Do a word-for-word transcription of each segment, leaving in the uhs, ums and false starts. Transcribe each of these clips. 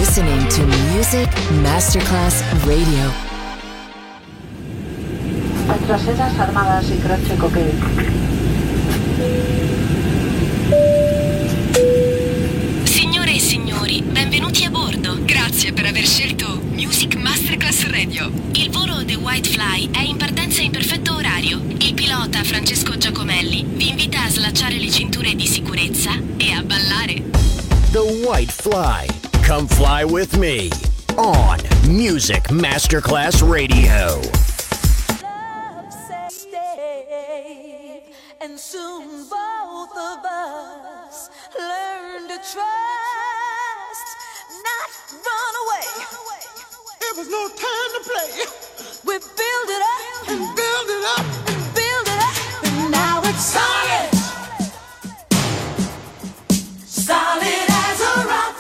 listening to Music Masterclass Radio. Retrocesas armadas y croce coque. Signore e signori, benvenuti a bordo. Grazie per aver scelto Music Masterclass Radio. Il volo The White Fly è in partenza in perfetto orario. Il pilota Francesco Giacomelli vi invita a slacciare le cinture di sicurezza e a ballare. The White Fly. Come fly with me on Music Masterclass Radio. And soon both of us learn to trust, not run away. There was no time to play. We build it up and build it up and build it up, and now it's solid, solid as a rock.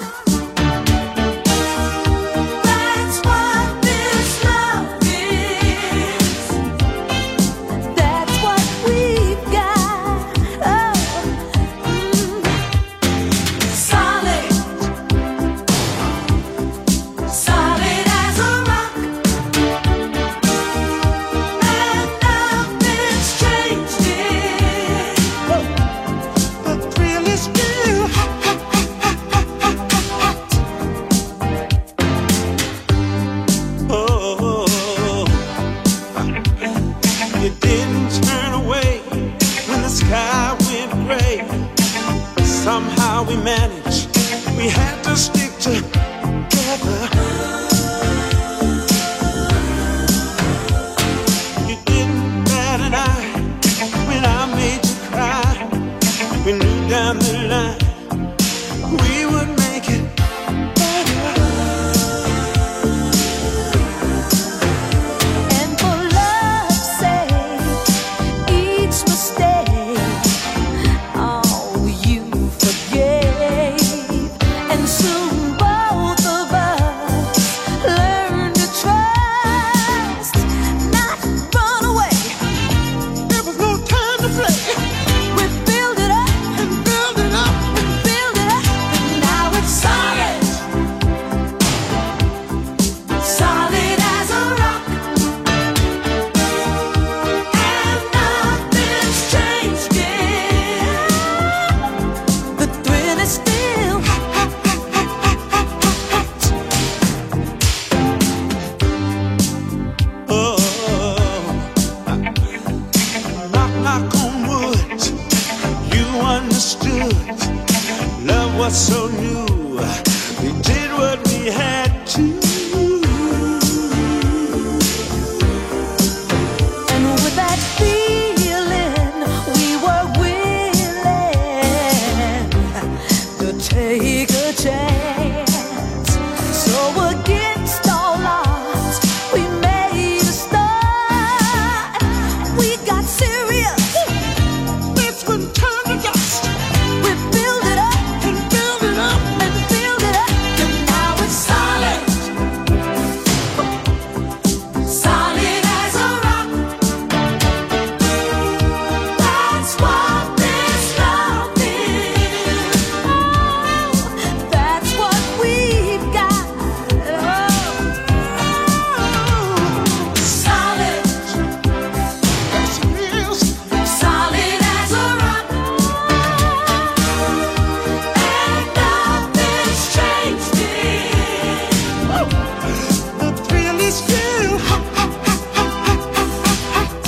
That's what this love is. That's what we've got. Oh, mm. Solid, solid as a rock. And nothing's changed it. The thrill is still hot, hot, hot, hot, hot, hot. Oh, you didn't turn away when the sky went gray. Somehow we managed. We had to stick together. You didn't bat an eye when I made you cry. We knew down the line we would make it better. And for love's sake, each mistake, oh, you forgave. And soon both of us learned to trust, not run away. There was no time to play. We build it up And build it up. and build it up, and now it's solid, solid as a rock. And nothing's changed it. The thrill is still hot, Oh, knock, knock on wood. You understood. Love was so new. We did what we had to. and with that feeling, we were willing to take a chance. So against all odds, we made a start. We got serious. This one turned to dust. We build it up And build it up. and build it up, and now it's solid, solid as a rock. That's what this love is. Oh, that's what we've got. Oh, solid, Yes, it is. solid as a rock. And nothing's changed it. The thrill is still hot, hot, hot, hot, hot, hot.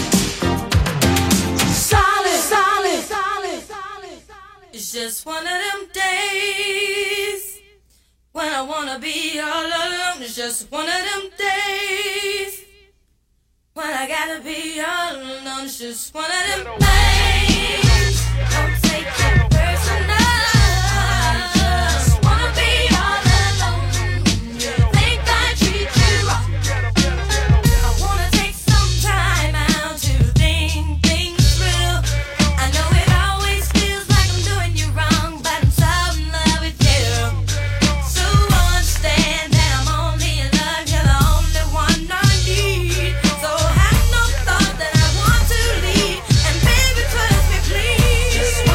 Solid, solid, solid, solid. It's just one of them days when I wanna be all alone. It's just one of them days when I gotta be all alone. It's just one of them things. Don't take it personal. Just wanna be all alone. Think I treat you wrong. I wanna take some time out to think things through. I know it always feels like I'm doing you wrong, but I'm so in love with you. So understand that I'm only in love, you're the only one I need. So have no thought that I want to leave, and baby trust me please.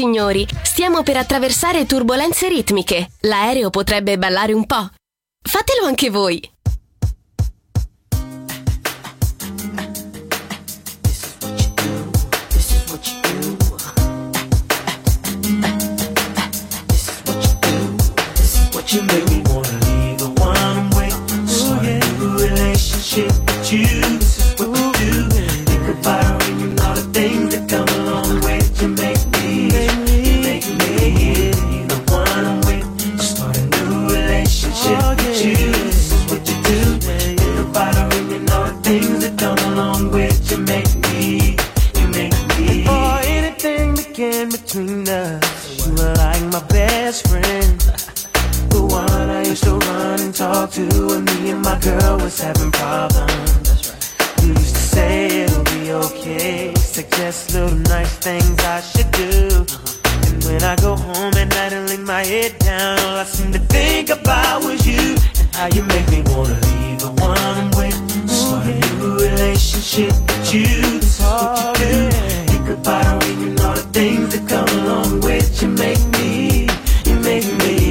signori, stiamo per attraversare turbolenze ritmiche. L'aereo potrebbe ballare un po'. Fatelo anche voi. You make me wanna leave the one I'm with. Start a new relationship with you. This is what we do. Think about her and you know the things that come along with. You make me, you make me leave the one I'm with. Start a new relationship with you. This is what you do. Think about her and you know the things that come along with. You make me, you make me. Before anything began between us, you were like my best friend. The one I used to run and talk to when me and my girl was having problems. That's right. You used to say it'll be okay, suggest little nice things I should do. Uh-huh. And when I go home at night and lay my head down, all I seem to think about was you and how you make me wanna leave the one I'm with. Start a new relationship with you. This is what you do. Think about her and you know the things that come along with. You make me, you make me.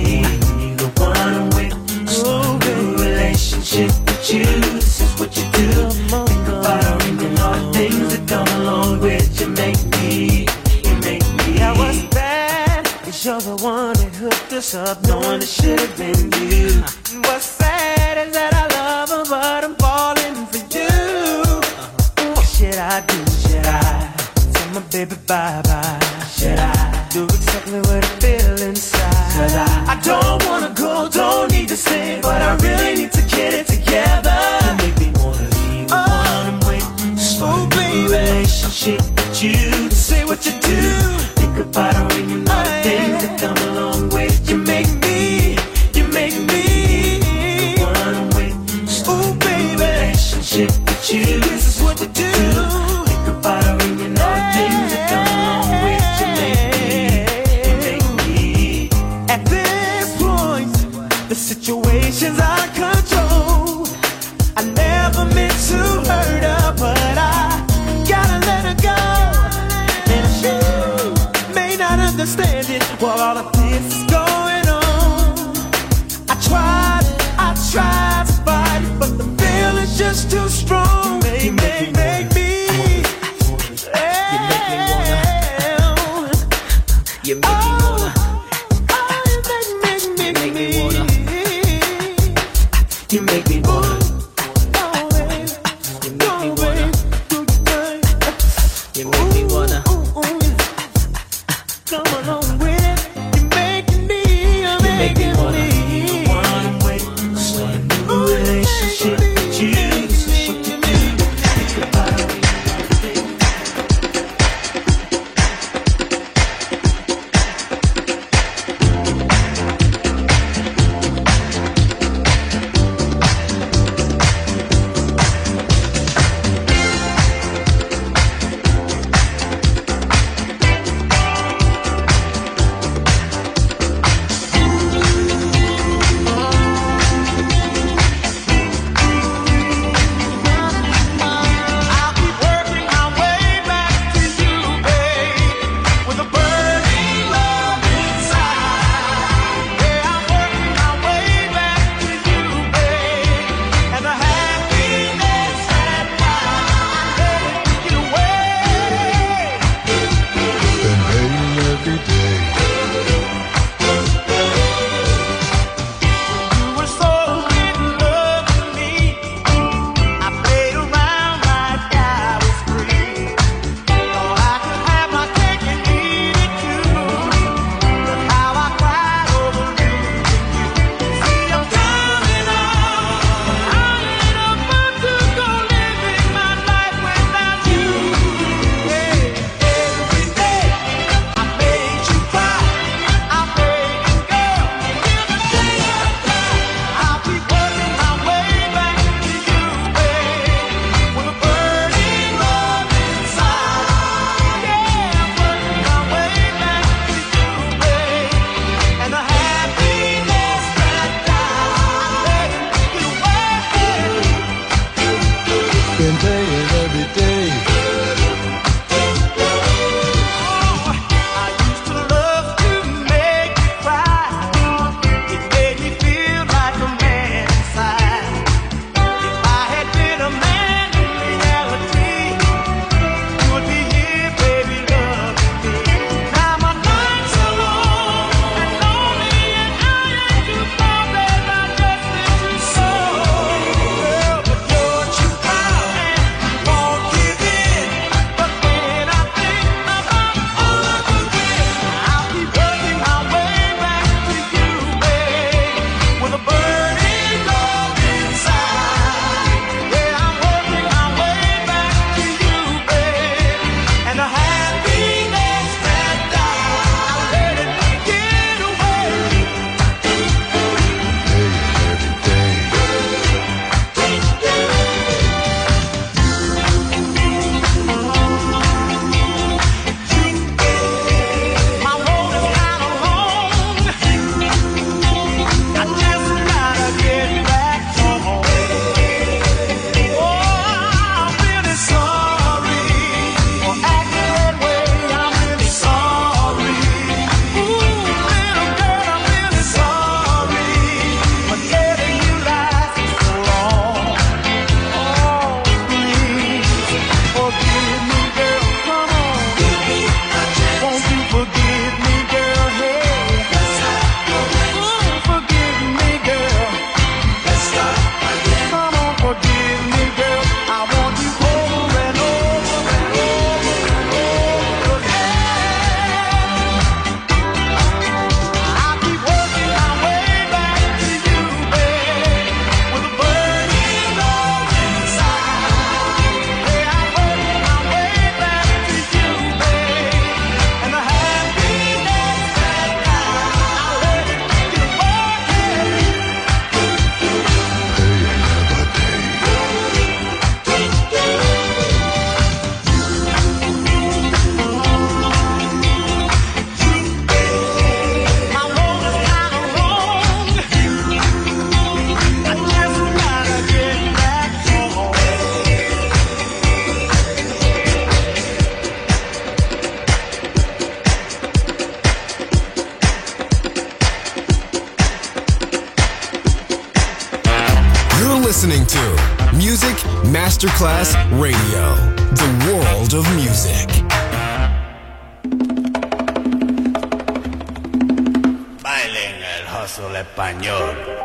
With you, this is what you do. Think about her and you know the things that come along with. You make me, you make me. Now what's bad is you're the one that hooked us up, knowing it should have been you. And what's sad is that I love her, but I'm falling for you. What should I do? Should I tell my baby bye-bye? Should I do exactly what I feel inside? Cause I, I don't wanna go, don't need to stay, but I really need to get it together. You make me wanna leave the oh, one I'm with. Start oh, a new relationship with you. Say what you do. Think about her and you know oh, the things that come along with. You make me, you make me the one I'm with. Oh baby, relationship with you. This is what you do. Think about her and you know the things that come along with. You make me, you make me. At this point, the situation's out of control. I never meant to hurt her, but I gotta let her go. And she may not understand it while all of this is going on. I tried, I tried to fight it, but the feeling's just too strong. Make, make, make me. You make me wanna. You make me wanna. You make me wanna. You make me wanna. You make me wanna. Come along with it. You make me, you make me wanna. The one I'm with. Start a new relationship with you. This is what you do. Think about it. listening to Music Masterclass Radio, the world of music. Bailen el hustle español.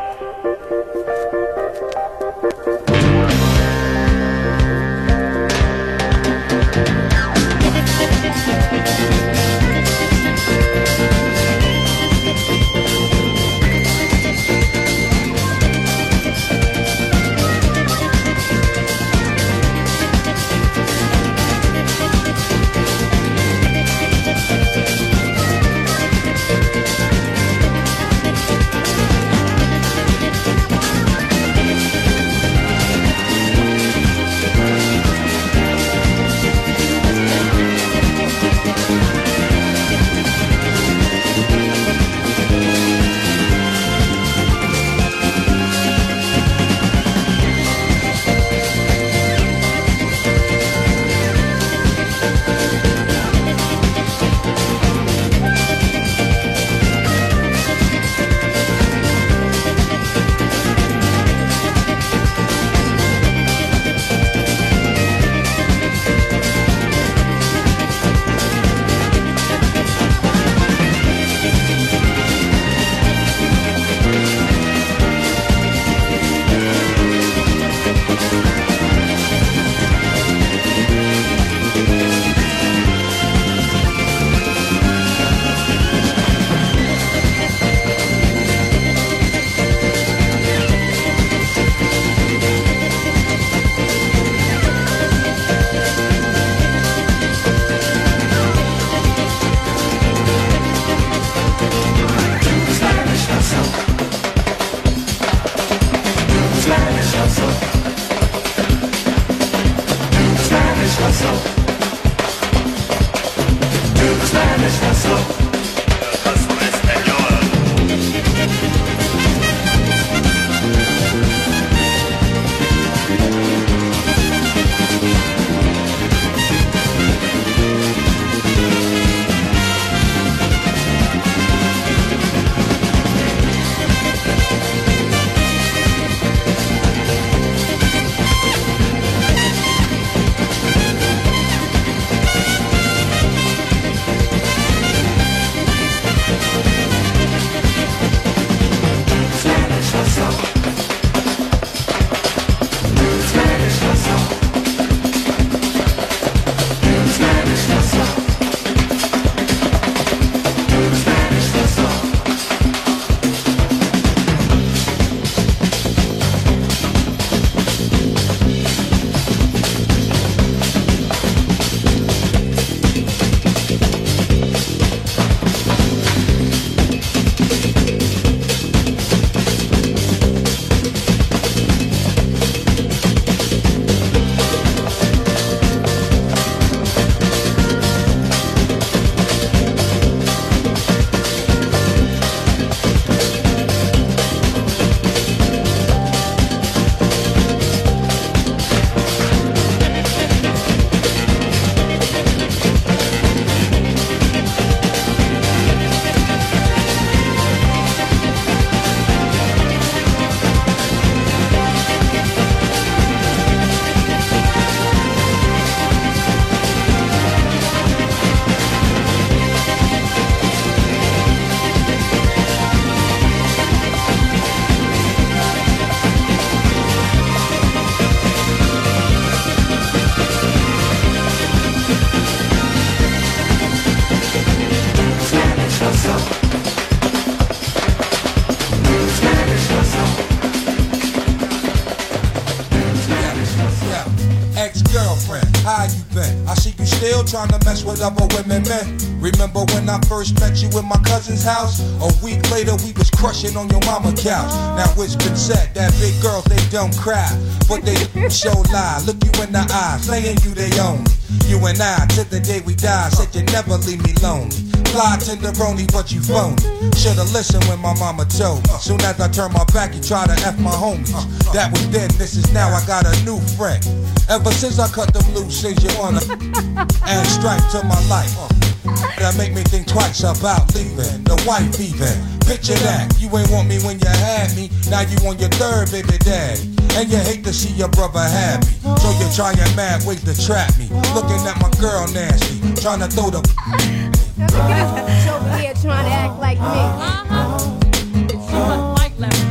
Trying to mess with other women, men. Remember when I first met you in my cousin's house? A week later we was crushing on your mama couch. Now it's been said that big girls, they don't cry, but they show lie. Look you in the eye, saying you they own. You and I, till the day we die, said you never leave me lonely. Fly tenderoni, but you phony. Should've listened when my mama told me. Soon as I turn my back, you try to F my homies. That was then, this is now, I got a new friend. Ever since I cut them loose, since you wanna add stripe to my life. That make me think twice about leaving, the wife even. Picture that, you ain't want me when you had me, now you on your third baby daddy. and you hate to see your brother happy. So you're trying mad ways to trap me. Looking at my girl nasty, trying to throw the She's over here trying to act like me. Uh-huh. She must like Larry.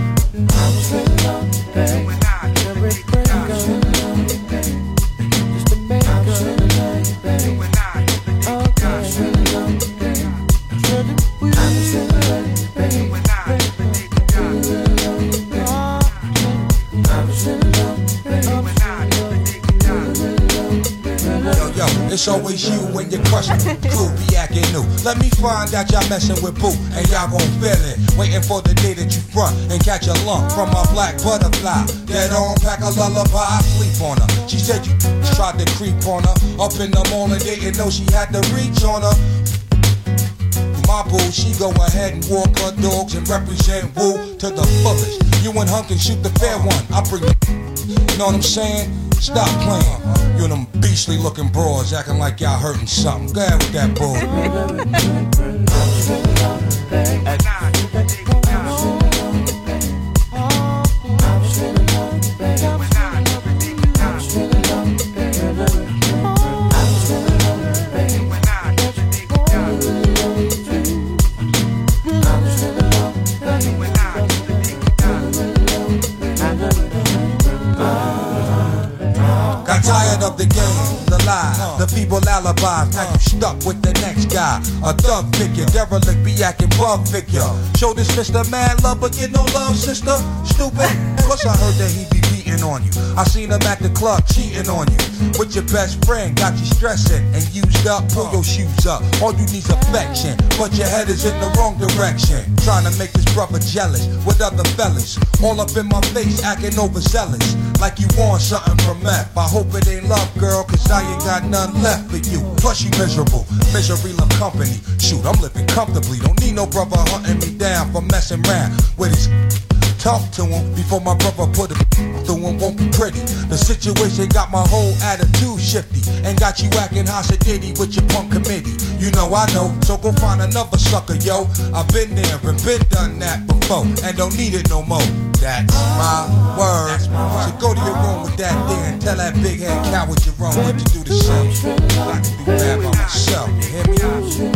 It's always you when you're crushing. Crew be acting new. Let me find out y'all messing with Boo, and y'all gon' feel it. Waiting for the day that you front and catch a lump from my black butterfly. Dead on, pack a lullaby, I sleep on her. She said you tried to creep on her. Up in the morning, didn't know she had to reach on her. My boo, she go ahead and walk her dogs and represent Woo to the fullest. You and Hunk can shoot the fair one. I bring the, you know what I'm saying? Stop playing. You and them beastly looking broads acting like y'all hurting something. Go ahead with that bull. Tired of the game, the lie, the feeble alibis. Now you stuck with the next guy. A thug figure, derelict, be acting bug figure. Show this Mister Mad Love, but get no love, sister. Stupid. Cause I heard that he be beating on you. I seen him at the club cheating on you. With your best friend, got you stressing and used up. Pull your shoes up. All you need's affection, but your head is in the wrong direction. Trying to make this brother jealous with other fellas. All up in my face, acting overzealous. Like you want something from F. I hope it ain't love, girl, cause I ain't got none left for you. Plus you miserable, misery love company. Shoot, I'm living comfortably. Don't need no brother hunting me down for messing around with his. Talk to him before my brother put it through him, won't be pretty. The situation got my whole attitude shifty and got you acting hossidity with your punk committee. You know I know, so go find another sucker, yo. I've been there and been done that before and don't need it no more. That's my word. That's my word. So go to your room with that there and tell that big head coward you're wrong what to do the same. I can do that by myself, you hear me?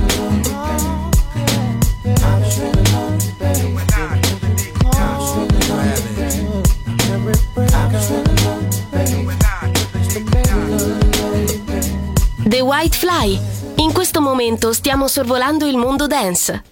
The White Fly. In questo momento stiamo sorvolando il mondo dance.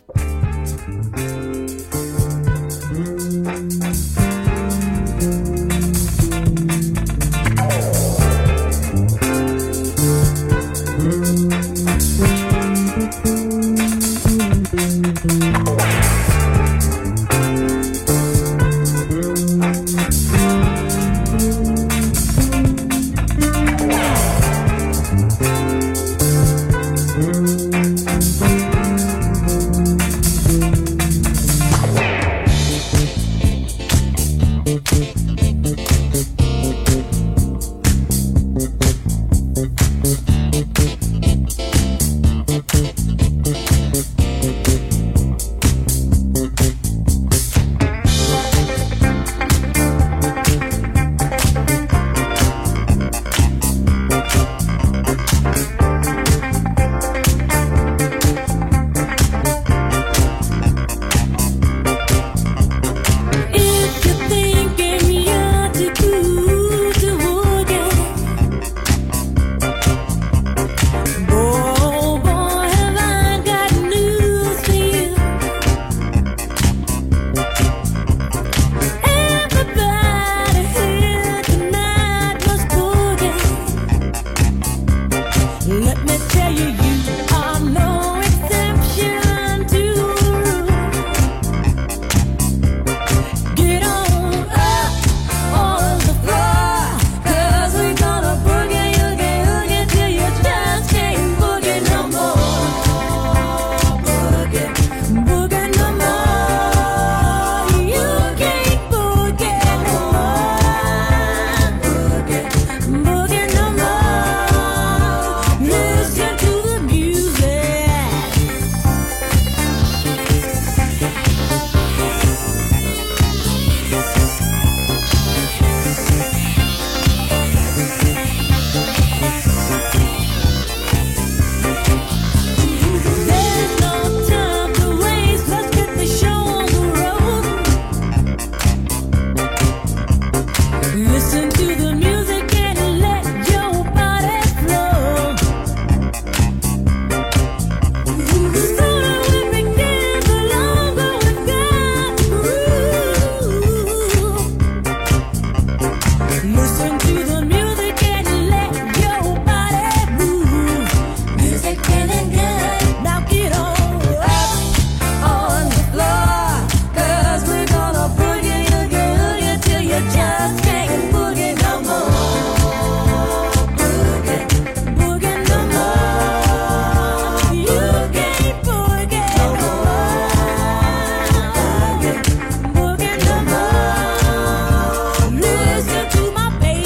Listen to my baby.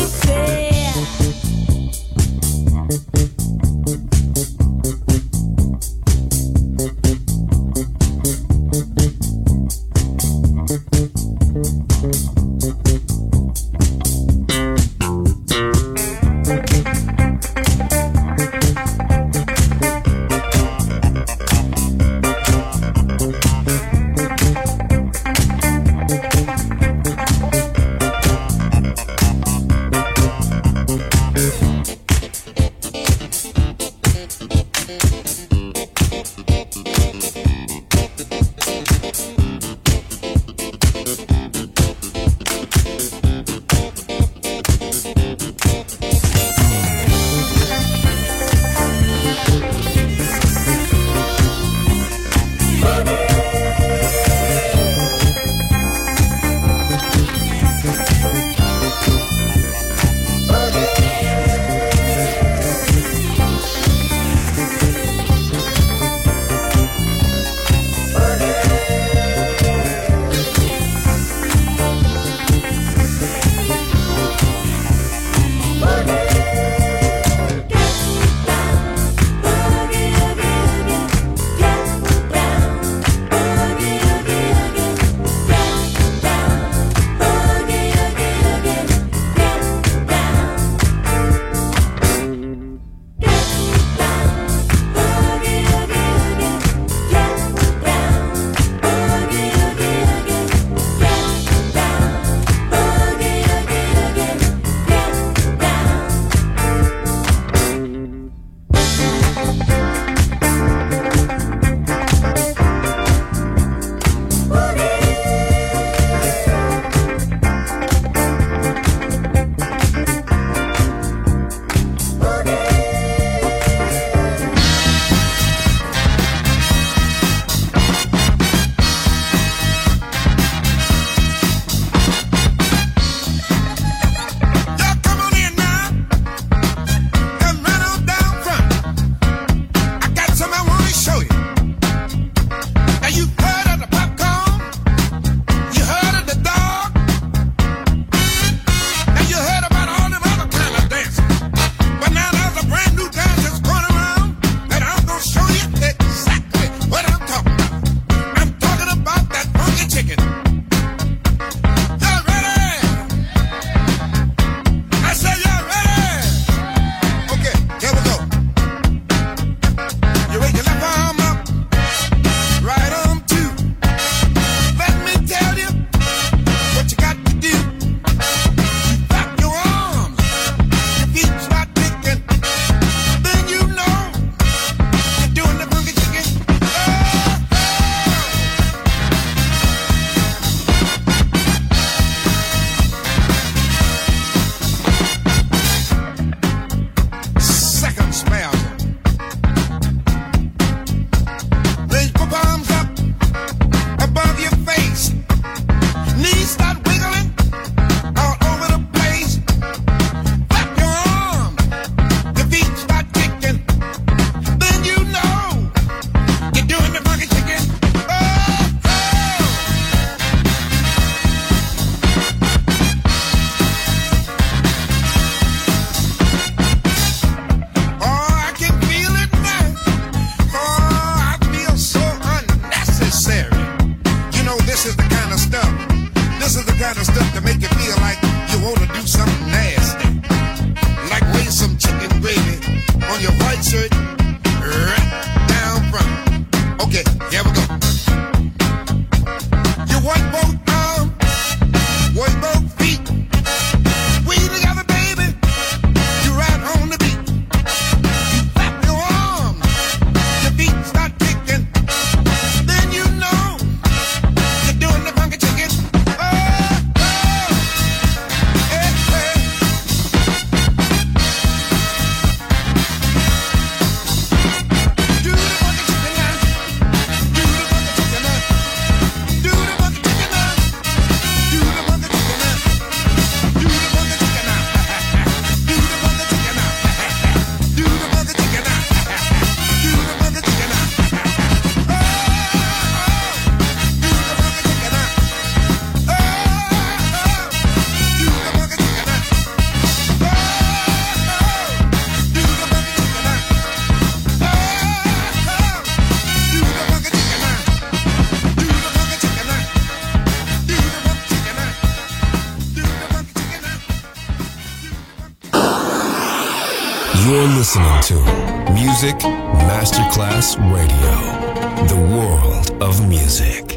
You're listening to Music Masterclass Radio, the world of music.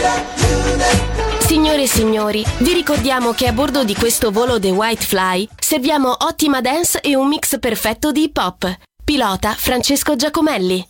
Signore e signori, vi ricordiamo che a bordo di questo volo The White Fly serviamo ottima dance e un mix perfetto di hip hop. Pilota Francesco Giacomelli.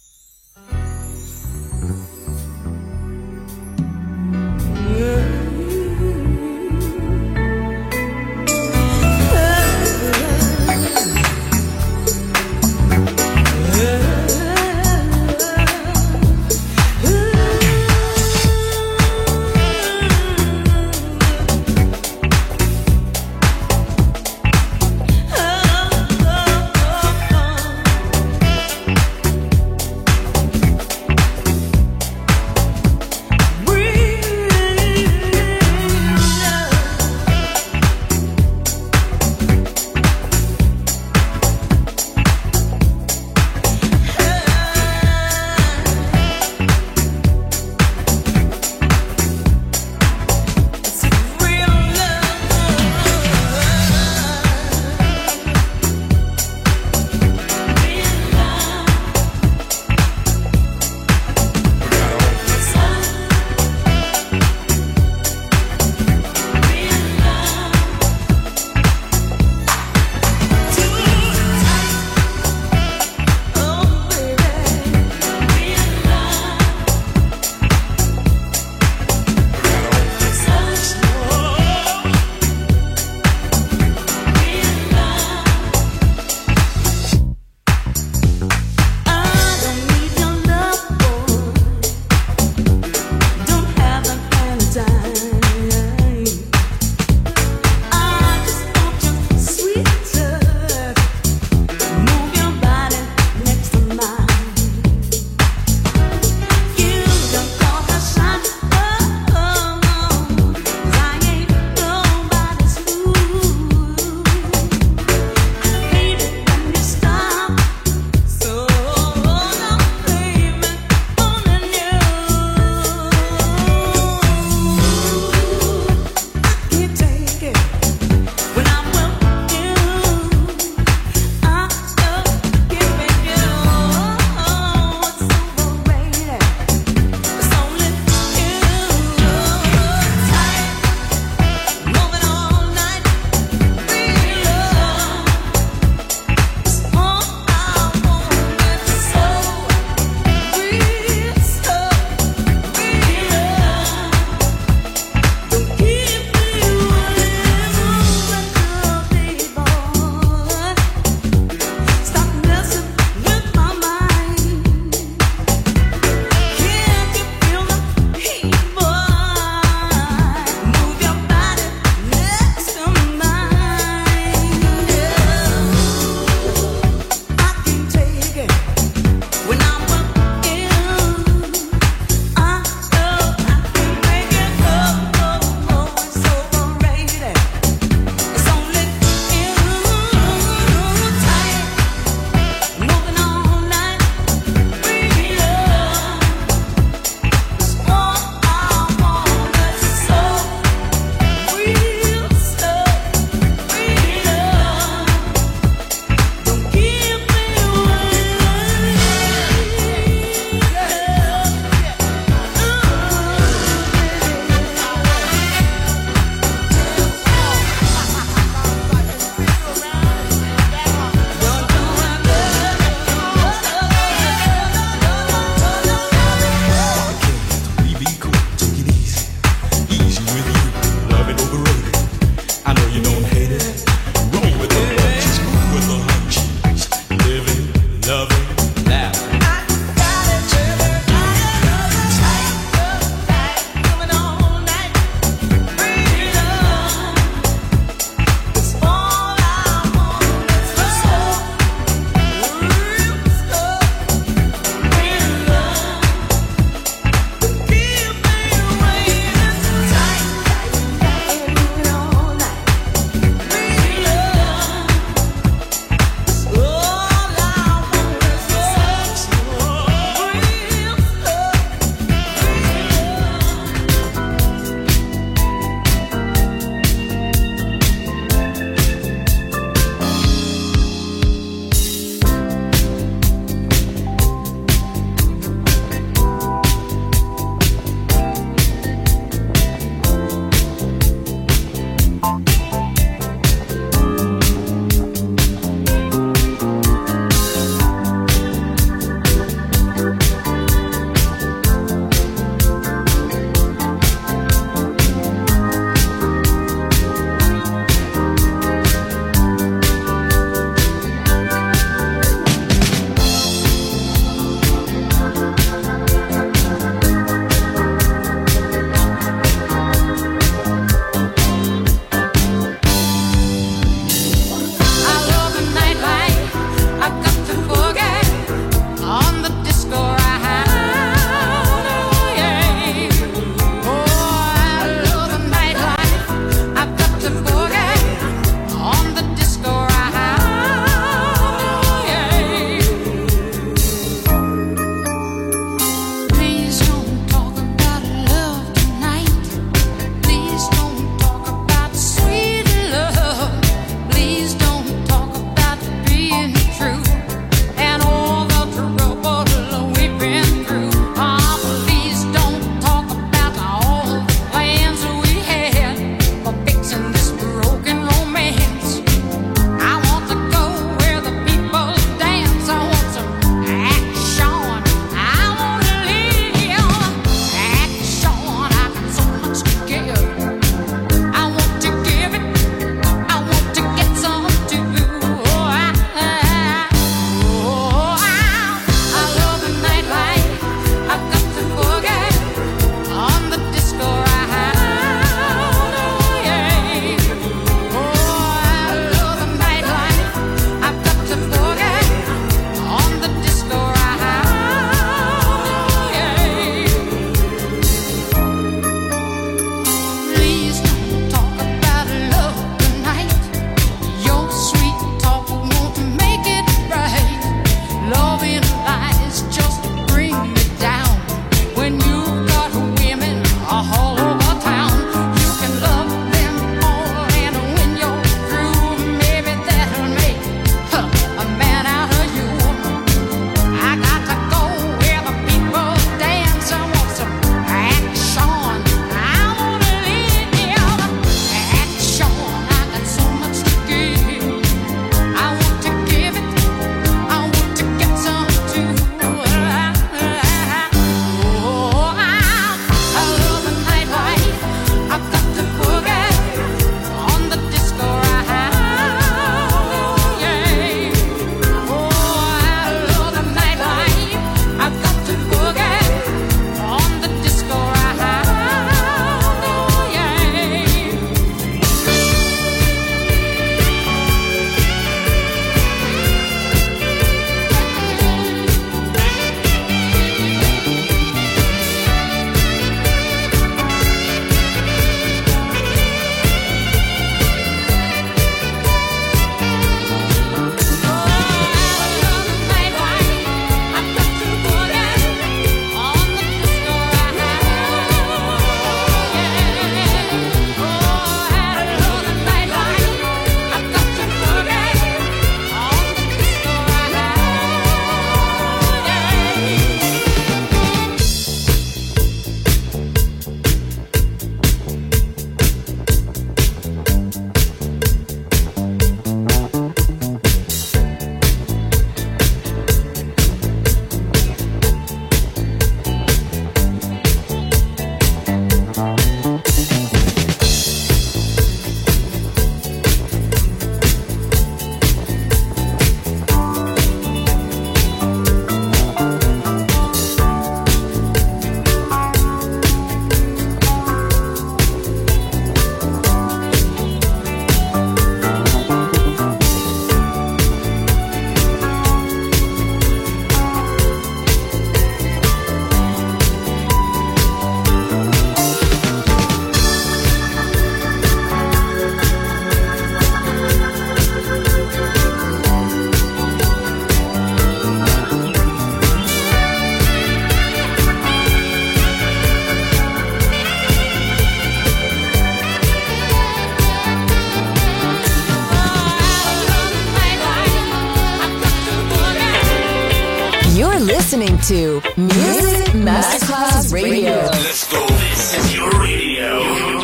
listening to Music Masterclass Radio. Let's go. This is your radio.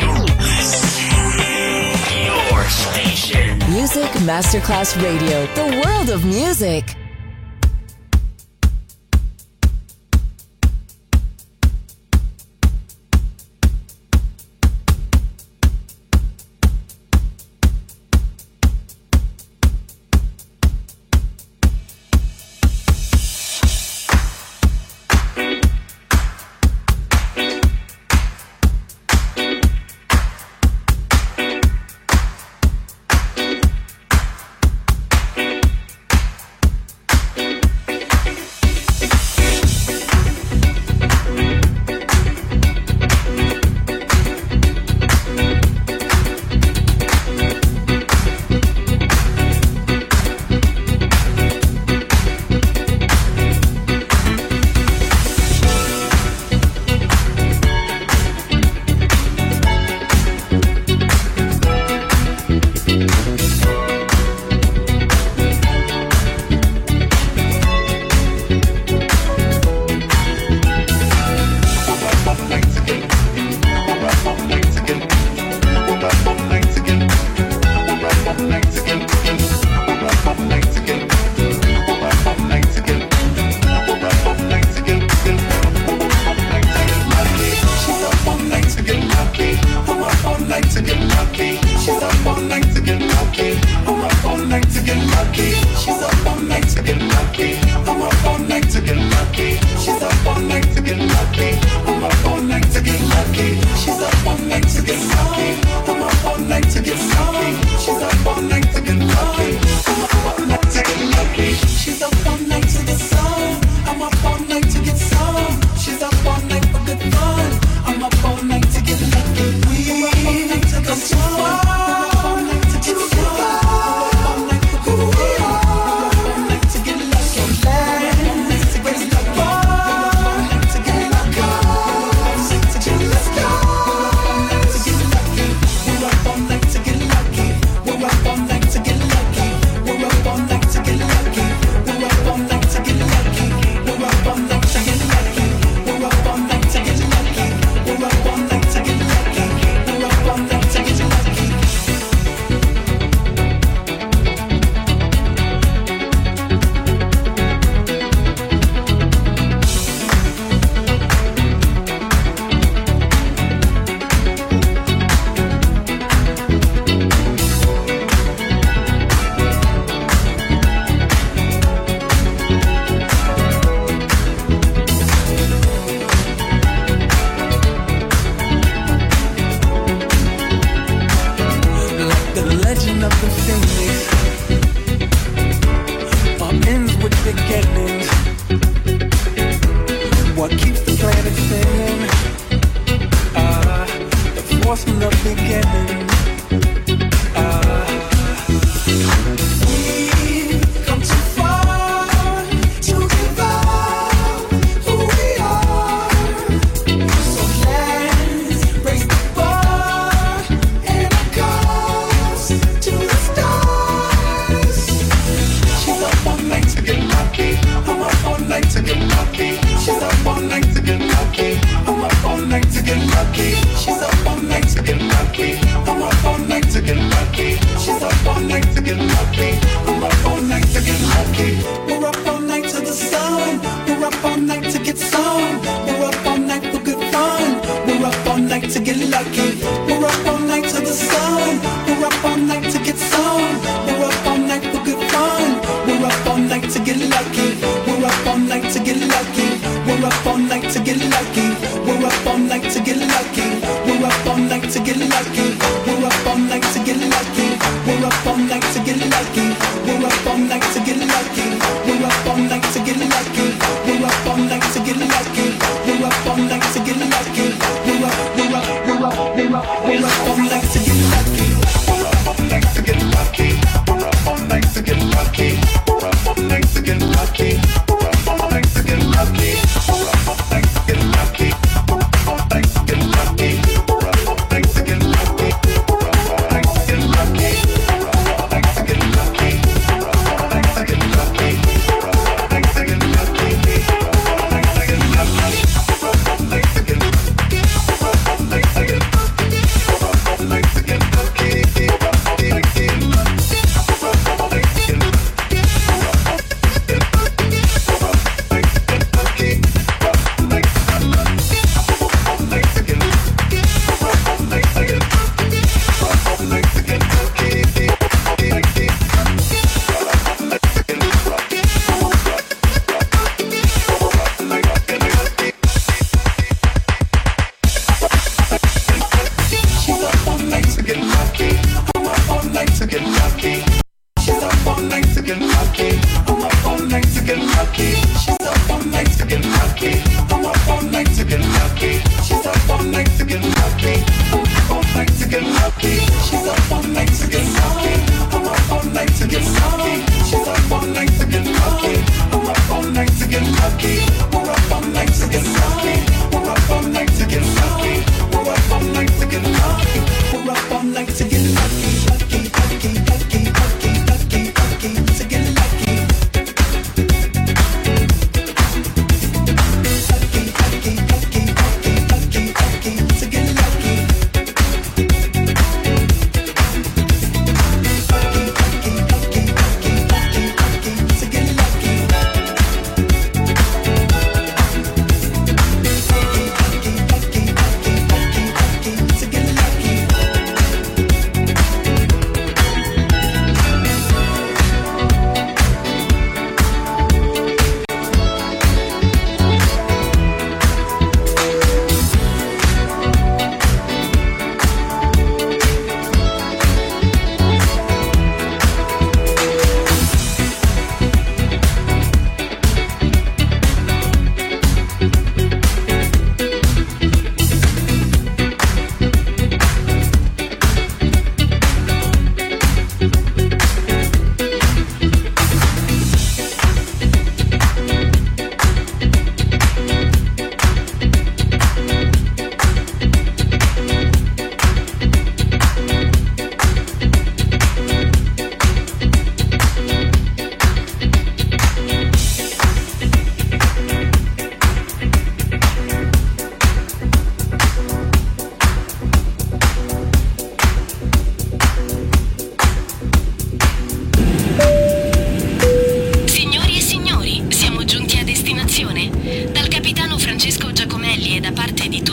Your station. Music Masterclass Radio. The world of music.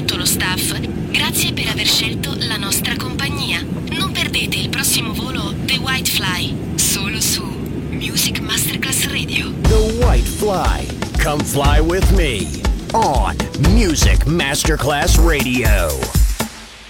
tutto lo staff, grazie per aver scelto la nostra compagnia. Non perdete il prossimo volo The White Fly, solo su Music Masterclass Radio. The White Fly. Come fly with me on Music Masterclass Radio.